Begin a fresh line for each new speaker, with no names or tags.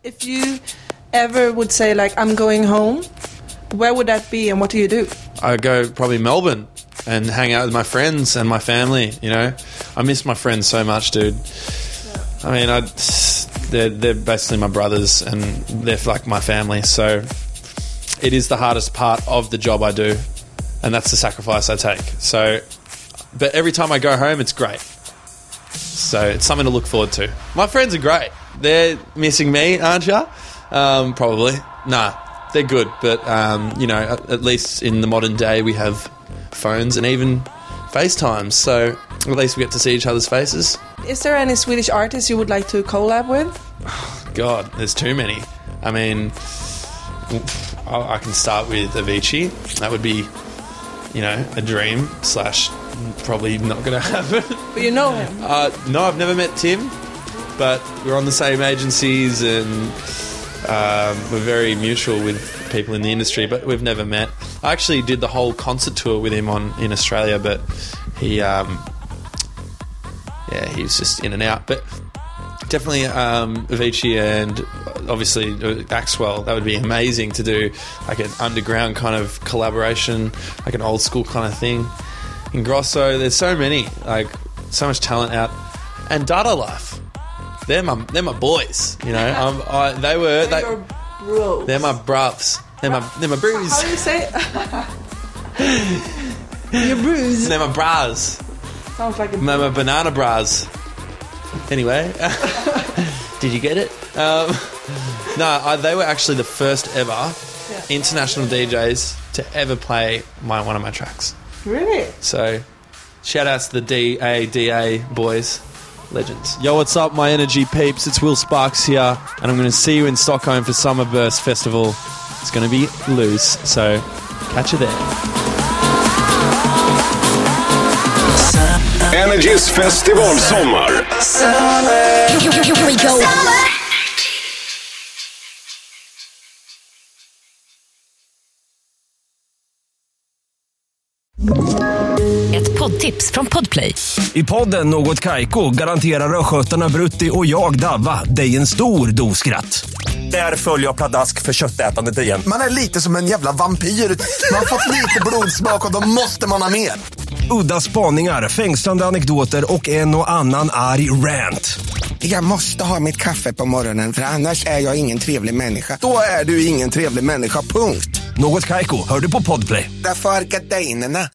If you ever would say like I'm going home, where would that be and what do you do?
I go probably Melbourne and hang out with my friends and my family, you know. I miss my friends so much, dude. I mean, they're basically my brothers and they're like my family. So it is the hardest part of the job I do, and that's the sacrifice I take. So, but every time I go home, it's great. So it's something to look forward to. My friends are great. They're missing me, aren't you? Probably. Nah, they're good. But, you know, at least in the modern day, we have phones and even FaceTimes. So at least we get to see each other's faces.
Is there any Swedish artists you would like to collab with?
God, there's too many. I mean, I can start with Avicii. That would be, you know, a dream / probably not going to happen.
But you know him?
No, I've never met Tim, but we're on the same agencies and we're very mutual with people in the industry, but we've never met. I actually did the whole concert tour with him in Australia, but he was just in and out. But definitely Avicii and obviously Axwell, that would be amazing to do like an underground kind of collaboration, like an old school kind of thing. Ingrosso, there's so many, like so much talent out. And Dada Life, they're my boys, you know. They're my bruvs. They're my brews.
How do you say it? Your brews.
They're my bras.
Sounds like
my banana bras. Anyway, did you get it? No, they were actually the first ever international DJs to ever play one of my tracks.
Really?
So, shout outs to the DADA boys, legends. Yo, what's up, my energy peeps? It's Will Sparks here, and I'm going to see you in Stockholm for Summerburst Festival. It's going to be loose, so catch you there.
Energys festivalsommar.
Here we go. Ett poddtips från Podplay.
I podden Något Kaiko garanterar röskötarna Brutti och jag Davva dig en stor doskratt. Där följer jag pladask för köttätandet igen.
Man är lite som en jävla vampyr. Man har fått lite blodsmak och då måste man ha mer.
Udda spaningar, fängslande anekdoter och en och annan arg rant.
Jag måste ha mitt kaffe på morgonen för annars är jag ingen trevlig människa. Då är du ingen trevlig människa, punkt.
Något Kaiko, hör du på Podplay.
Därför är gardinerna.